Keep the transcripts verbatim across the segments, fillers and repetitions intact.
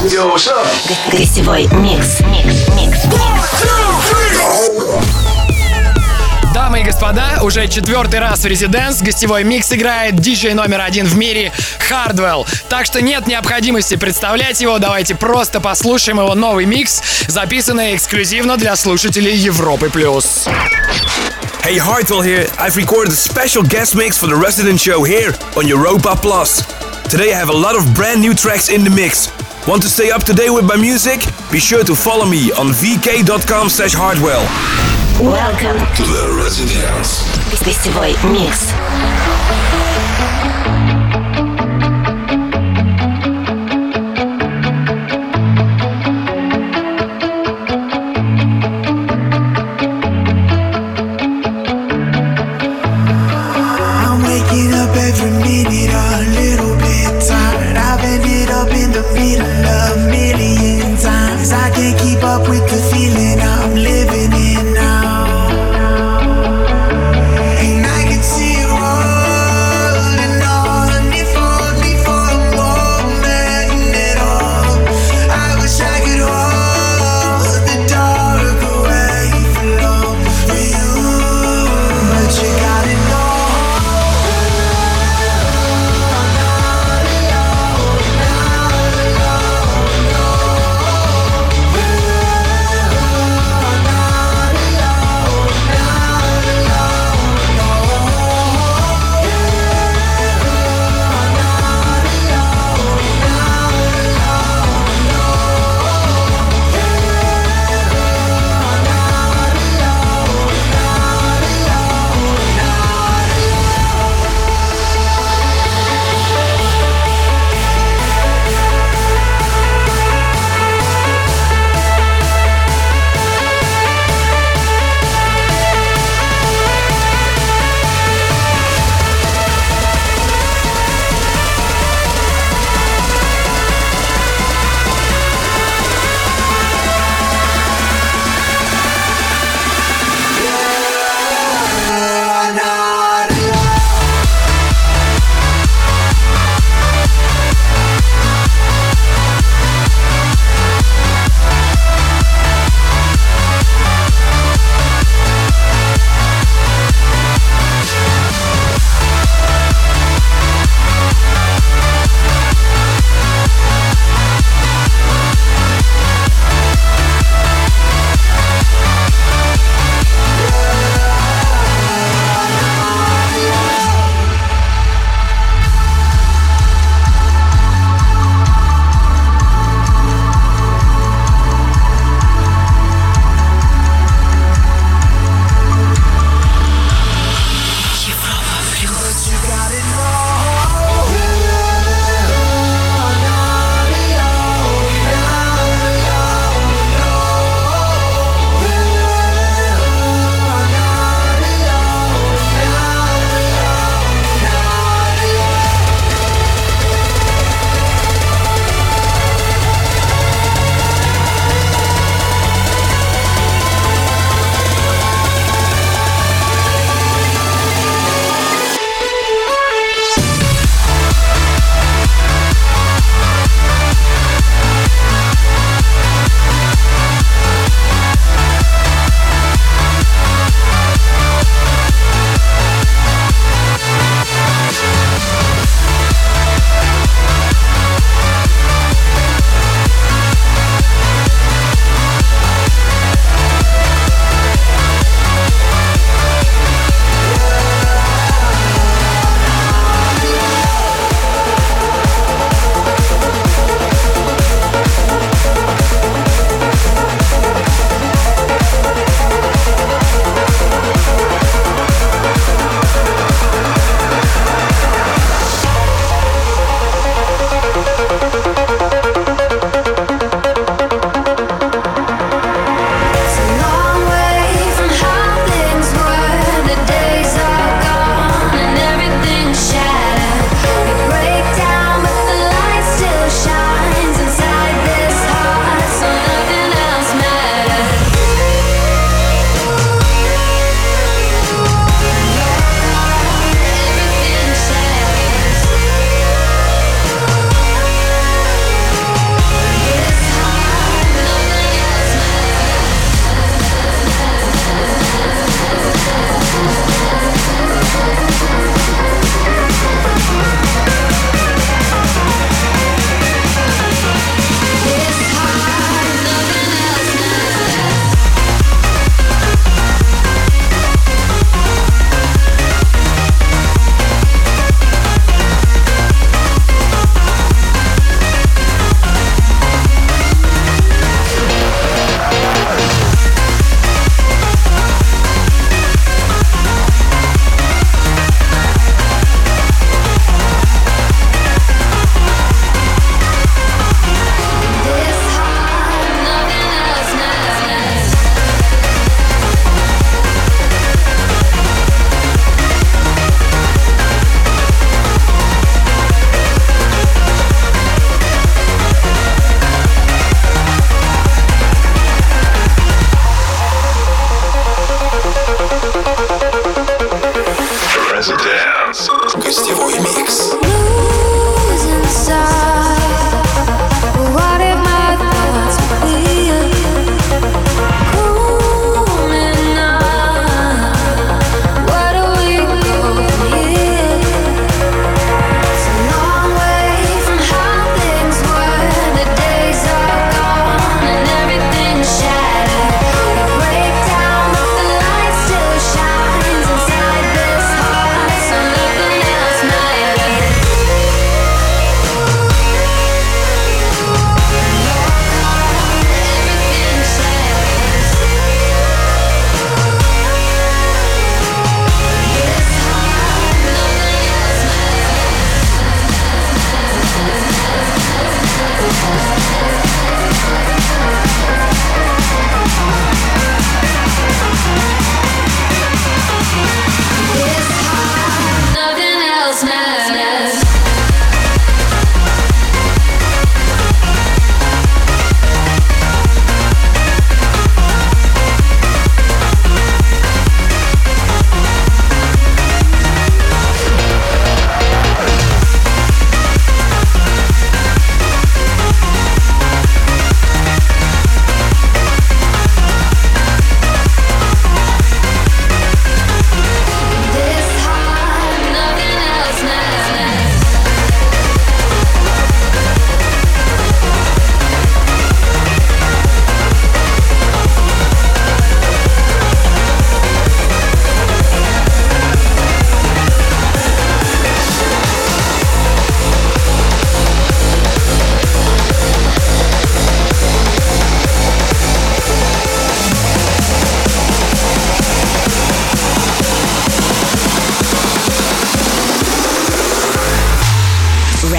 Yo, what's up? Гостевой микс. Микс, микс, Дамы и господа, уже четвертый раз в Residence гостевой микс играет диджей номер один в мире Hardwell. Так что нет необходимости представлять его, давайте просто послушаем его новый микс, записанный эксклюзивно для слушателей Европы+. Hey, Hardwell here. I've recorded a special guest mix for the Resident Show here on Europa Plus. Today I have a lot of brand new tracks in the mix. Want to stay up to date with my music? Be sure to follow me on vk.com slash hardwell. Welcome To the Residence. гостевой микс. With the feeling I'm living in now, and I can see it rolling on. If only for a moment at all. I wish I could hold the dark away for long for you, but you gotta know.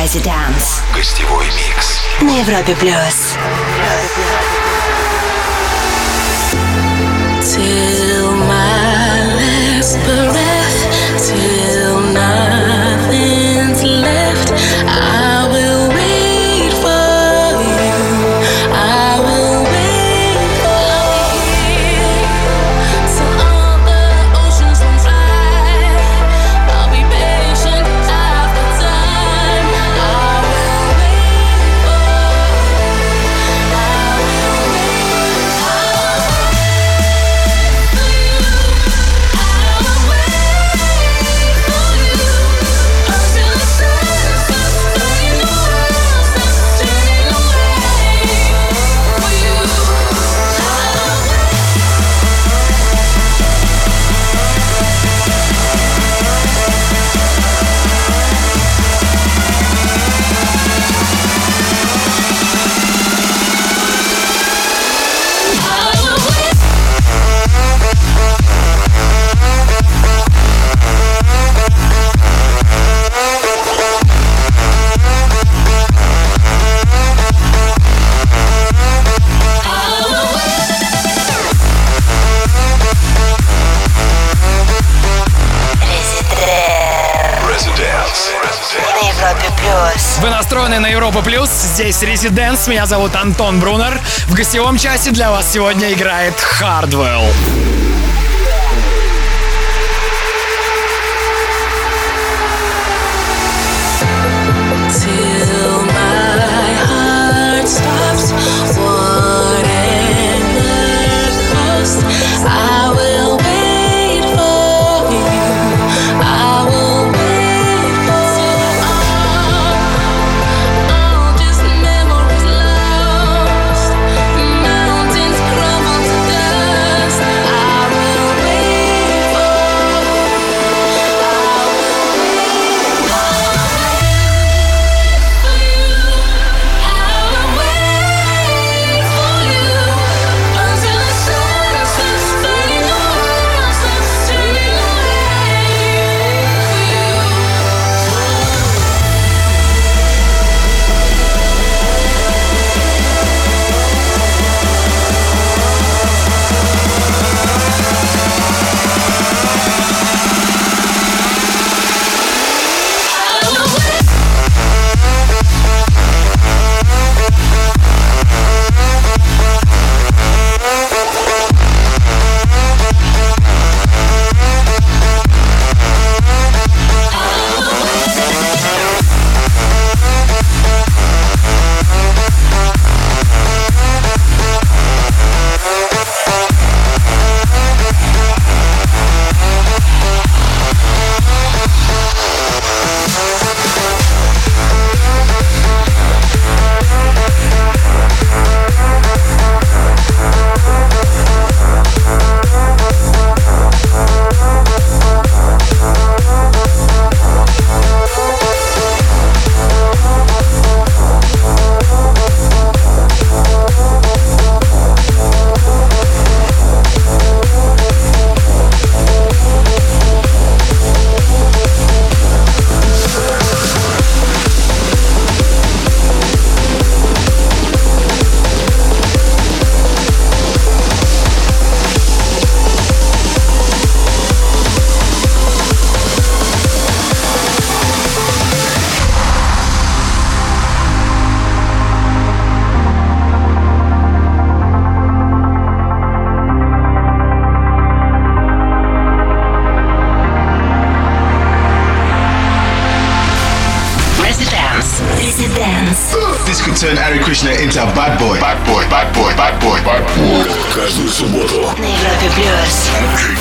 Residence. Гостевой микс. На Европе плюс. Till my last breath, till nothing's left, I will wait for you. I will wait for you. Till all the oceans run dry, I'll be patient after time. I will wait for you. I will wait for you. Вы настроены на Европу Плюс. Здесь Резиденс. Меня зовут Антон Брунер. В гостевом часе для вас сегодня играет Хардвелл. Till my heart stops, whatever cost, I will wait for you. I will wait for you. All just memories lost, mountains crumble to dust. I will wait for you. I will wait for you. This could turn Hare Krishna into a bad boy. Bad boy, bad boy, bad boy, bad boy. Каждую субботу На Европе плюс.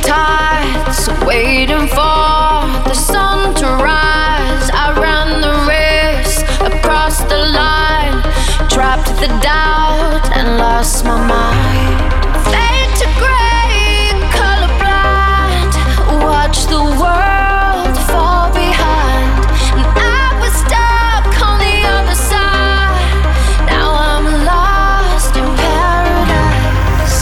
tides, waiting for the sun to rise. I ran the race across the line, trapped the doubt and lost my mind. Fade to gray, colorblind, watch the world fall behind. And I was stuck on the other side. Now I'm lost in paradise.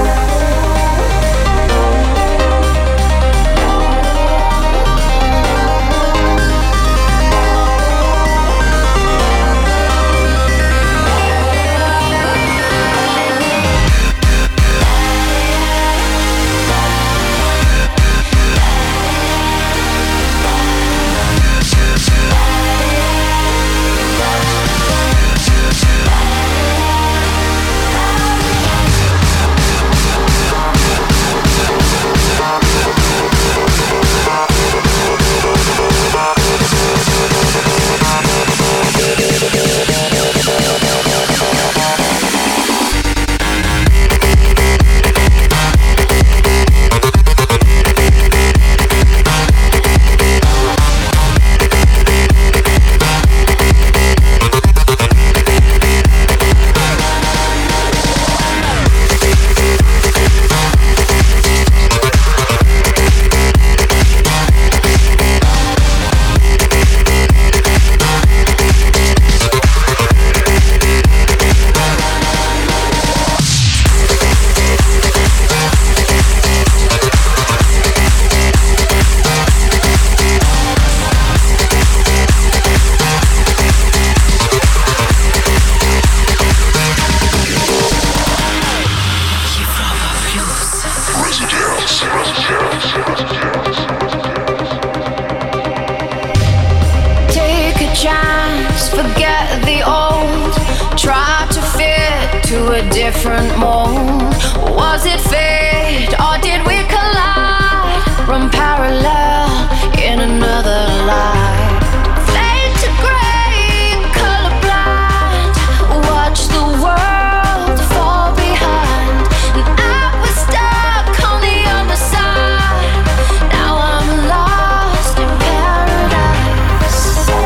Take a chance, forget the old. Try to fit to a different mold. Was it fate or did we collide? Run parallel in another life. Fade to gray, colorblind, watch the world fall behind. And I was stuck on the other side. Now I'm lost in paradise.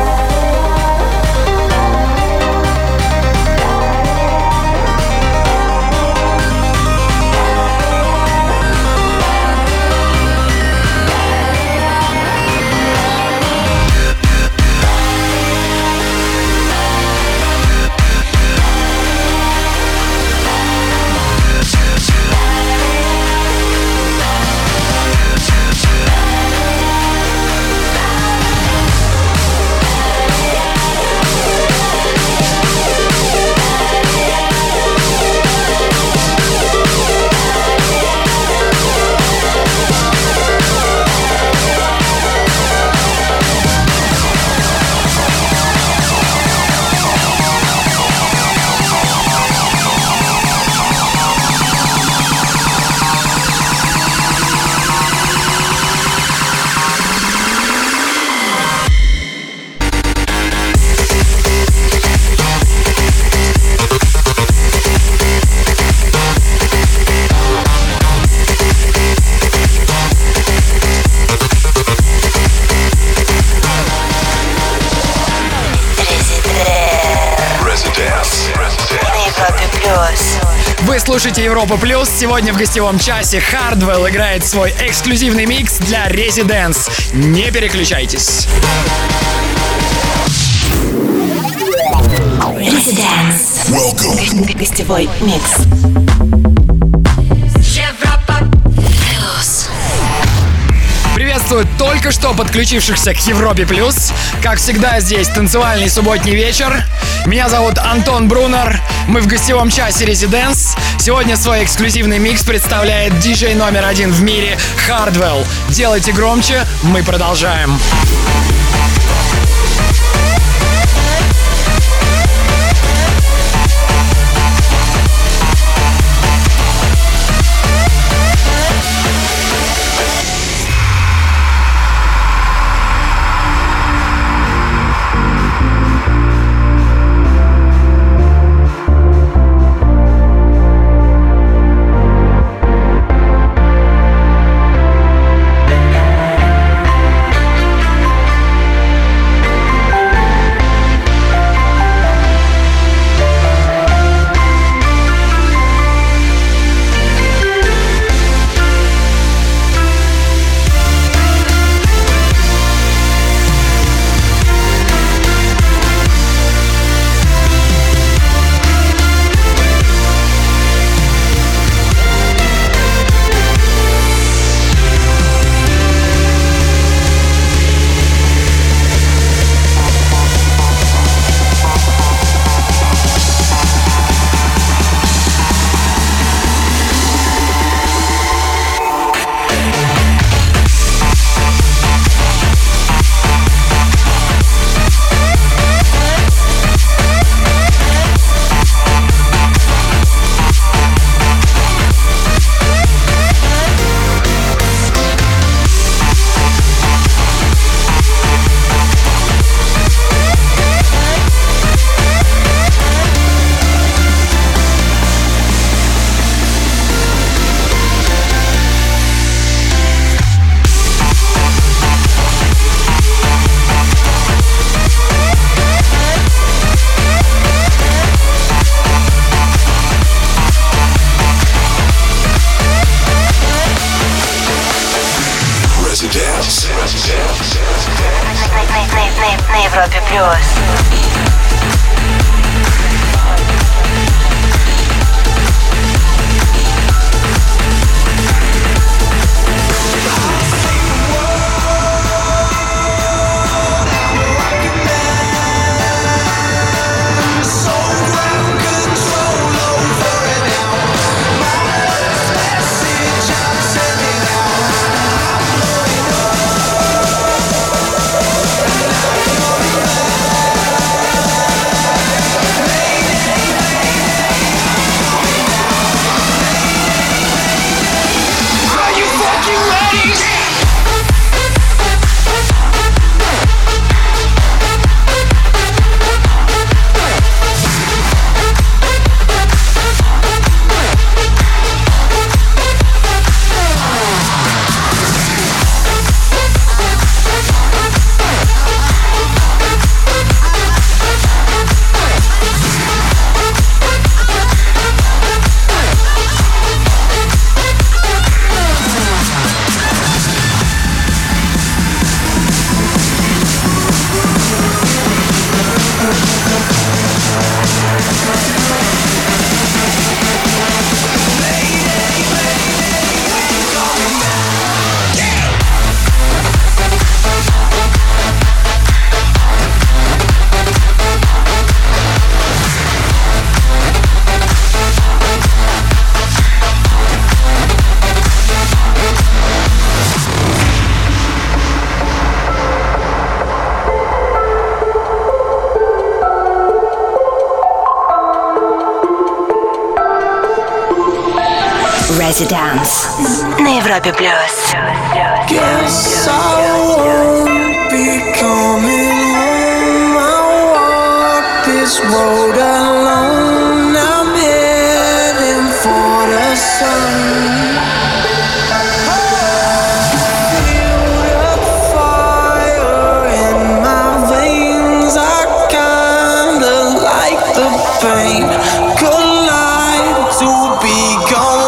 Вы слушаете Европа Плюс. Сегодня в гостевом часе Hardwell играет свой эксклюзивный микс для Residence. Не переключайтесь. Residence. Welcome. Гостевой микс. Приветствую только что подключившихся к Европе Плюс. Как всегда, здесь танцевальный субботний вечер. Меня зовут Антон Брунер. Мы в гостевом часе Residence. Сегодня свой эксклюзивный микс представляет диджей номер один в мире Hardwell. Делайте громче, мы продолжаем. We'll be right back. Residence на Европе плюс. Guess I won't be coming home. I walk this road alone. I'm heading for the sun. Feel the fire in my veins. I kinda like the pain. Collide to become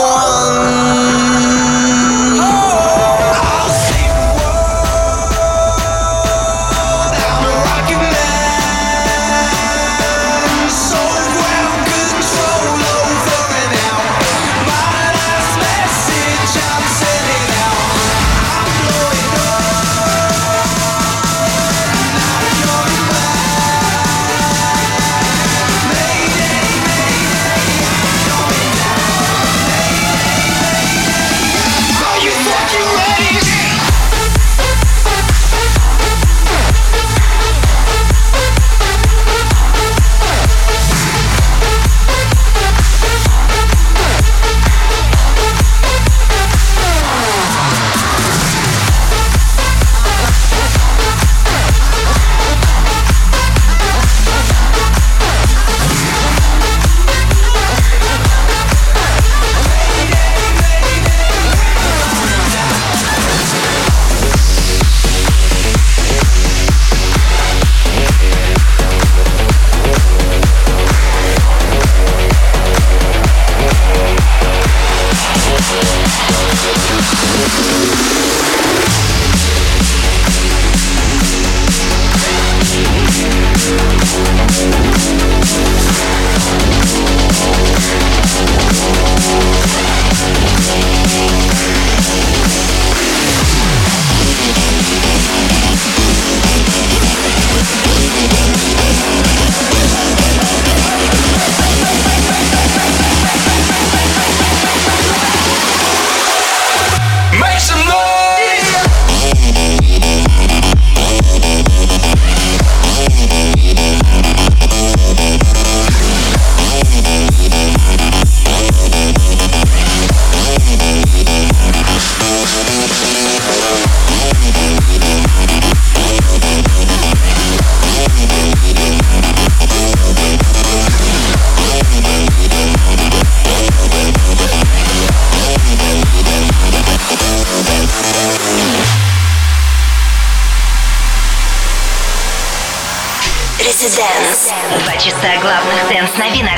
Residence. Два часа главных дэнс-новинок.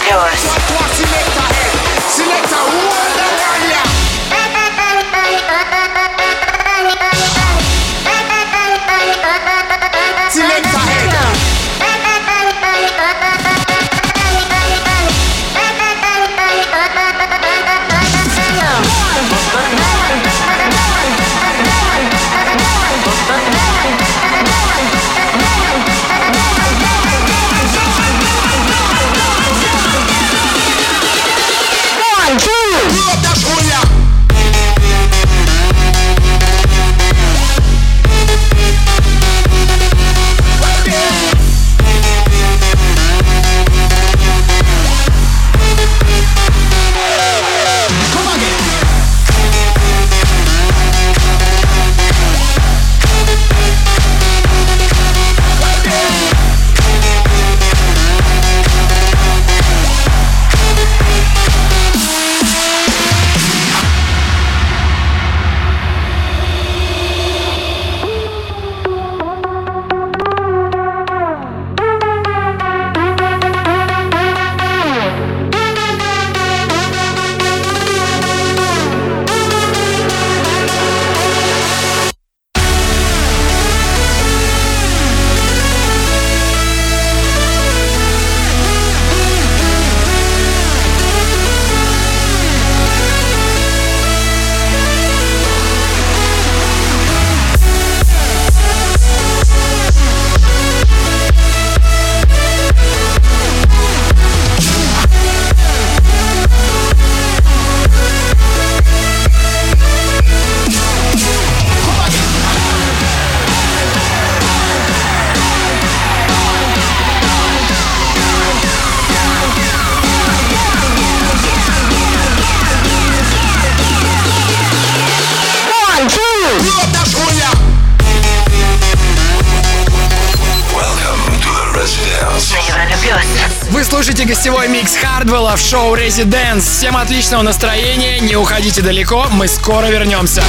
Вы слушаете гостевой микс Хардвелла в шоу Residence. Всем отличного настроения, не уходите далеко, мы скоро вернемся.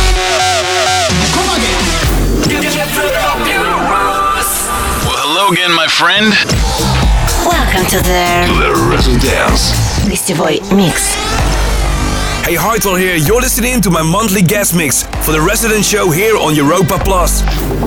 Well, hello again, my friend. Welcome to the, To the Residence. гостевой микс. Hey, Hartwell here. You're listening to my monthly guest mix for the Resident Show here on Europa Plus.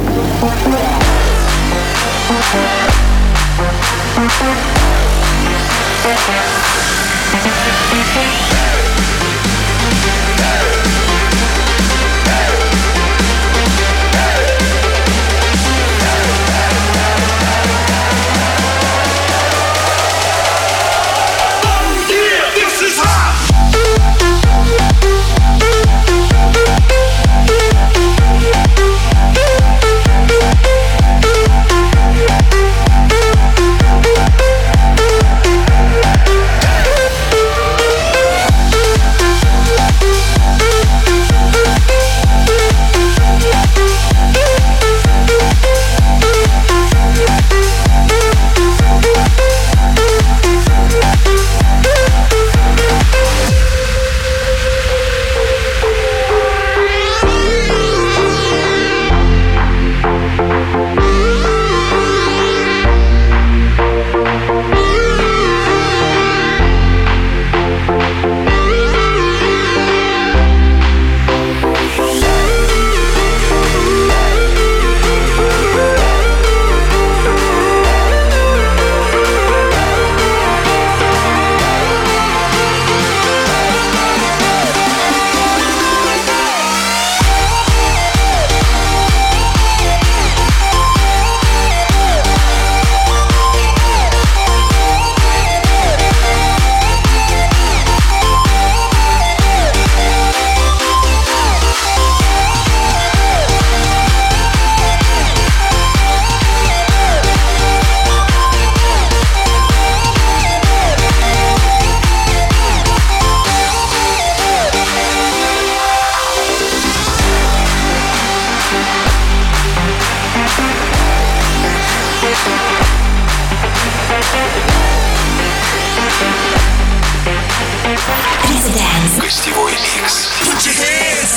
Гостевой микс. Put your hands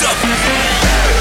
up.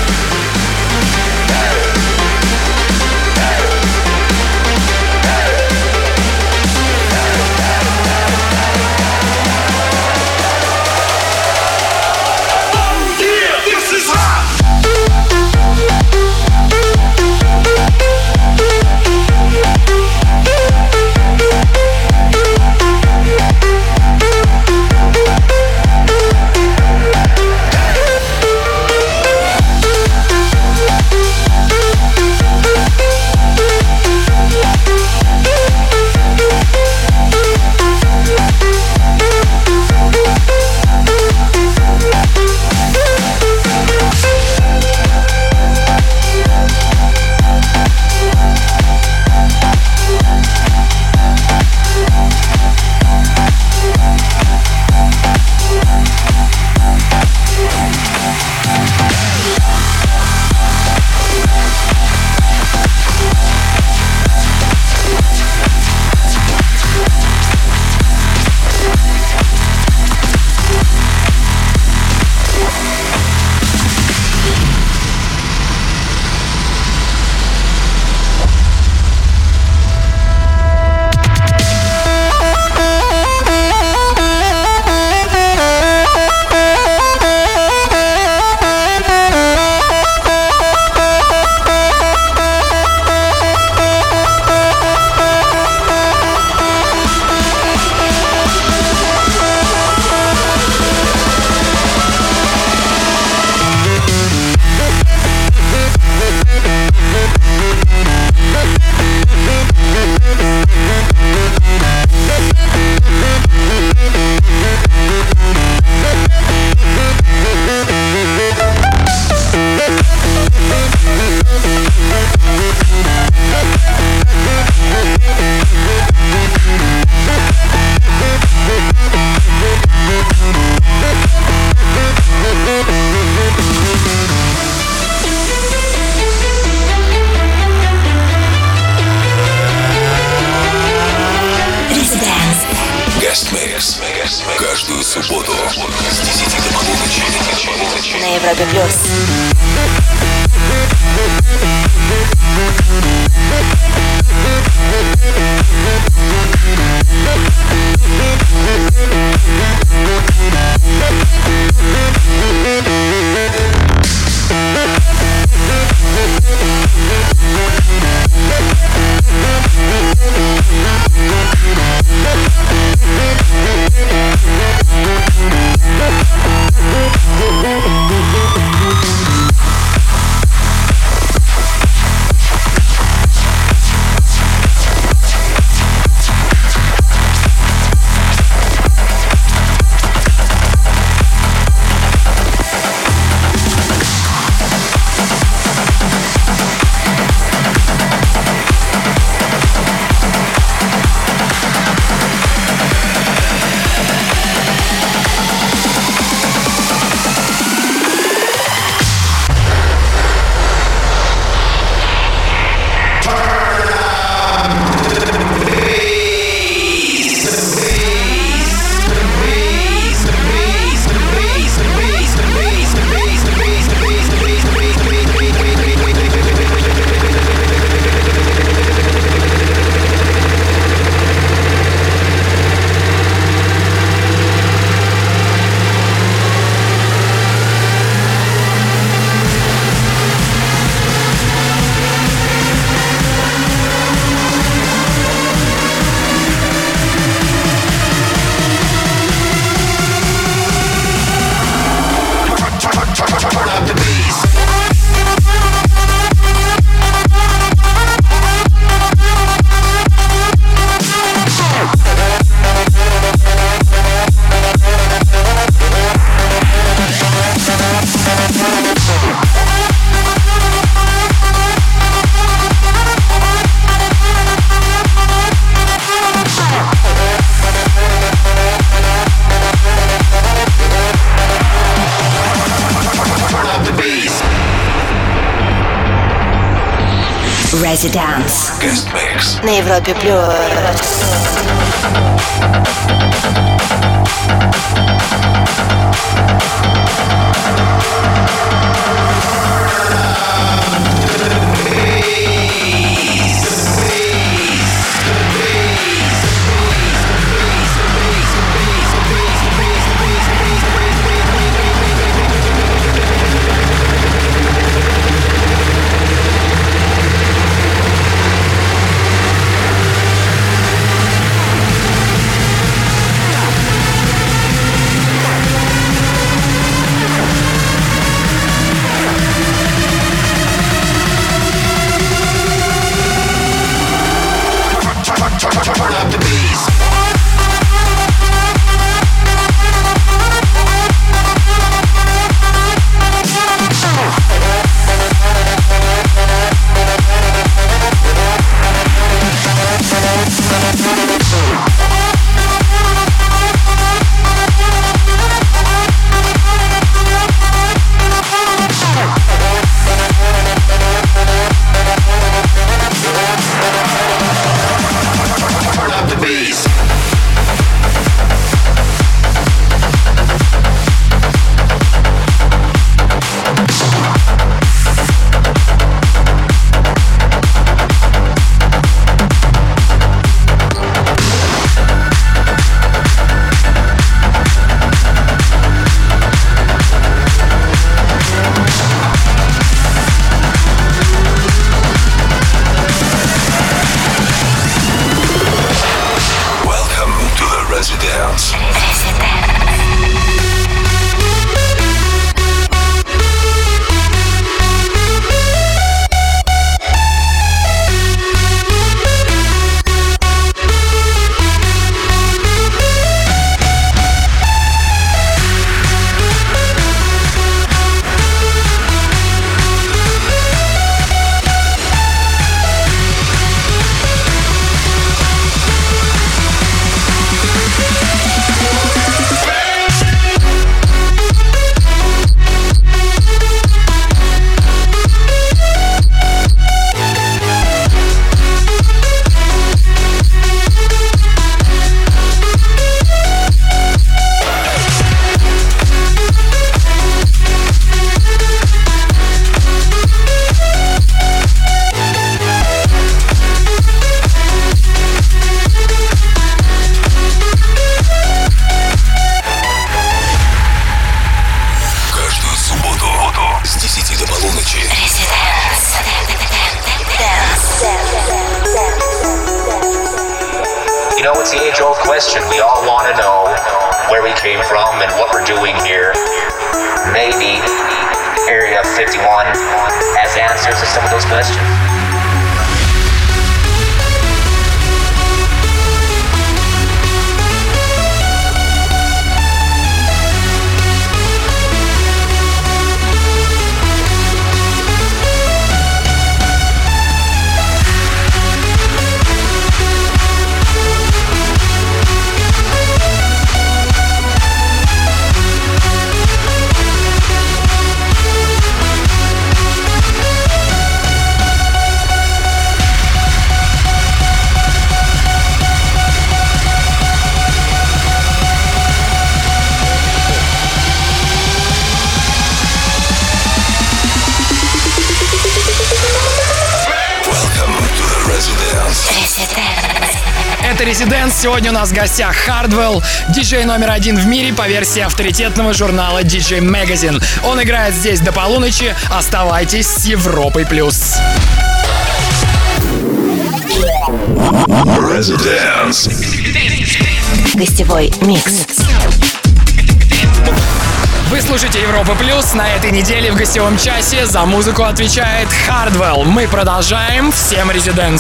Европе плюс. Residence. Guest mix. На Европе плюс. question. We all want to know where we came from and what we're doing here. Maybe Area fifty-one has answers to some of those questions. Это Residence. Сегодня у нас в гостях Hardwell, диджей номер один в мире по версии авторитетного журнала ди джей Magazine. Он играет здесь до полуночи. Оставайтесь с Европой плюс. Residence. Гостевой микс. Вы слушаете Европа Плюс. На этой неделе в гостевом часе за музыку отвечает Hardwell. Мы продолжаем. Всем Residence.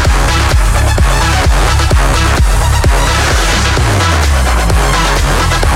Bye.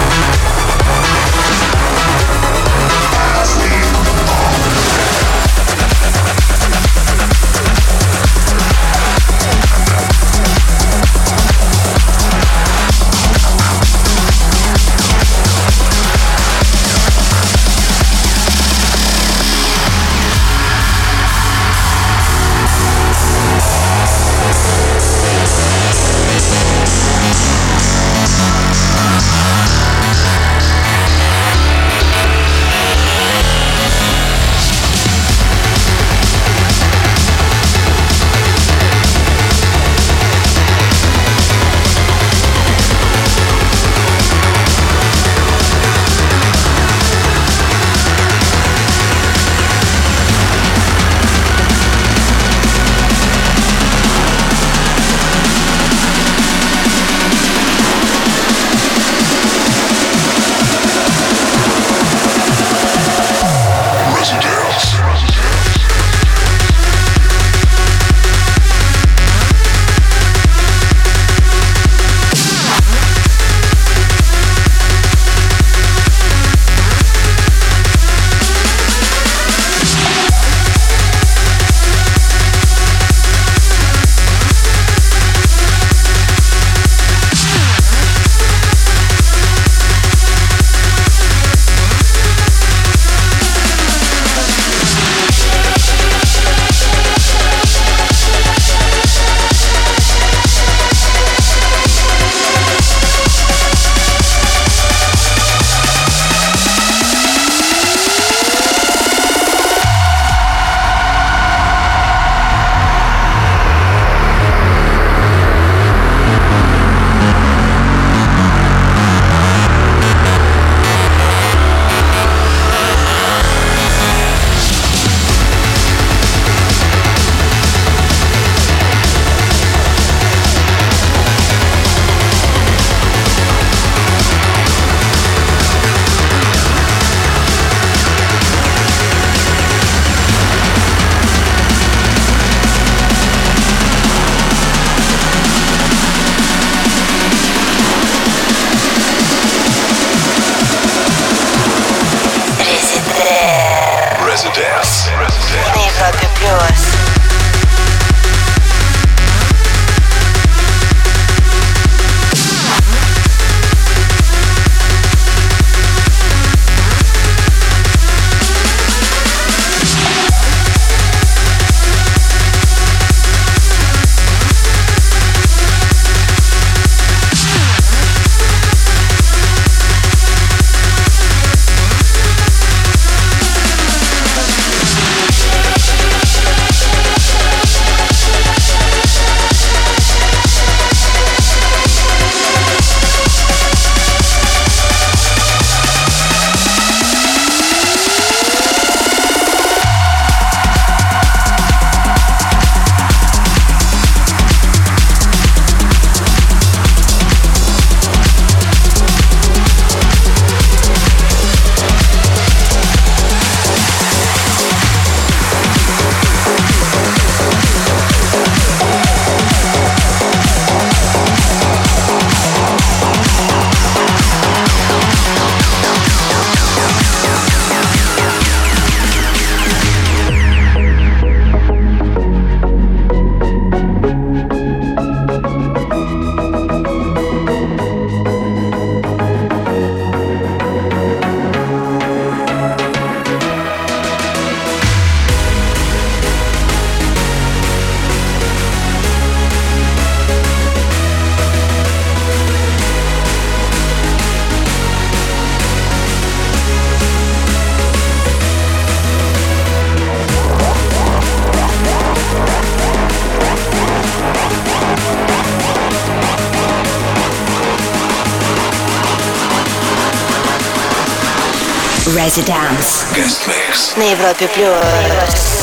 Residence. Guest mix. На Европе плюс.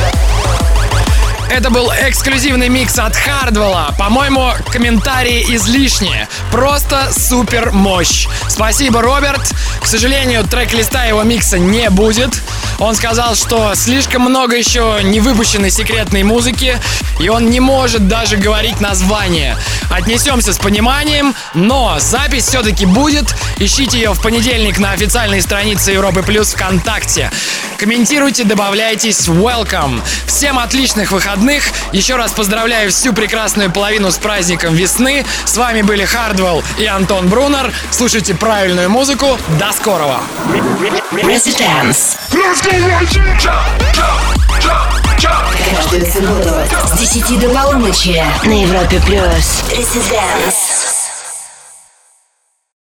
Это был эксклюзивный микс от Хардвелла. По-моему, комментарии излишние. Просто супер мощь. Спасибо, Роберт. К сожалению, трек-листа его микса не будет. Он сказал, что слишком много еще не выпущенной секретной музыки, и он не может даже говорить название. Отнесемся с пониманием, но запись все-таки будет. Ищите ее в понедельник на официальной странице Европы Плюс ВКонтакте. Комментируйте, добавляйтесь. Welcome. Всем отличных выходных. Еще раз поздравляю всю прекрасную половину с праздником весны. С вами были Хардвелл и Антон Брунер. Слушайте правильную музыку. До скорого. Residence. Каждую субботу с десяти до полуночи на Европе плюс. Residence.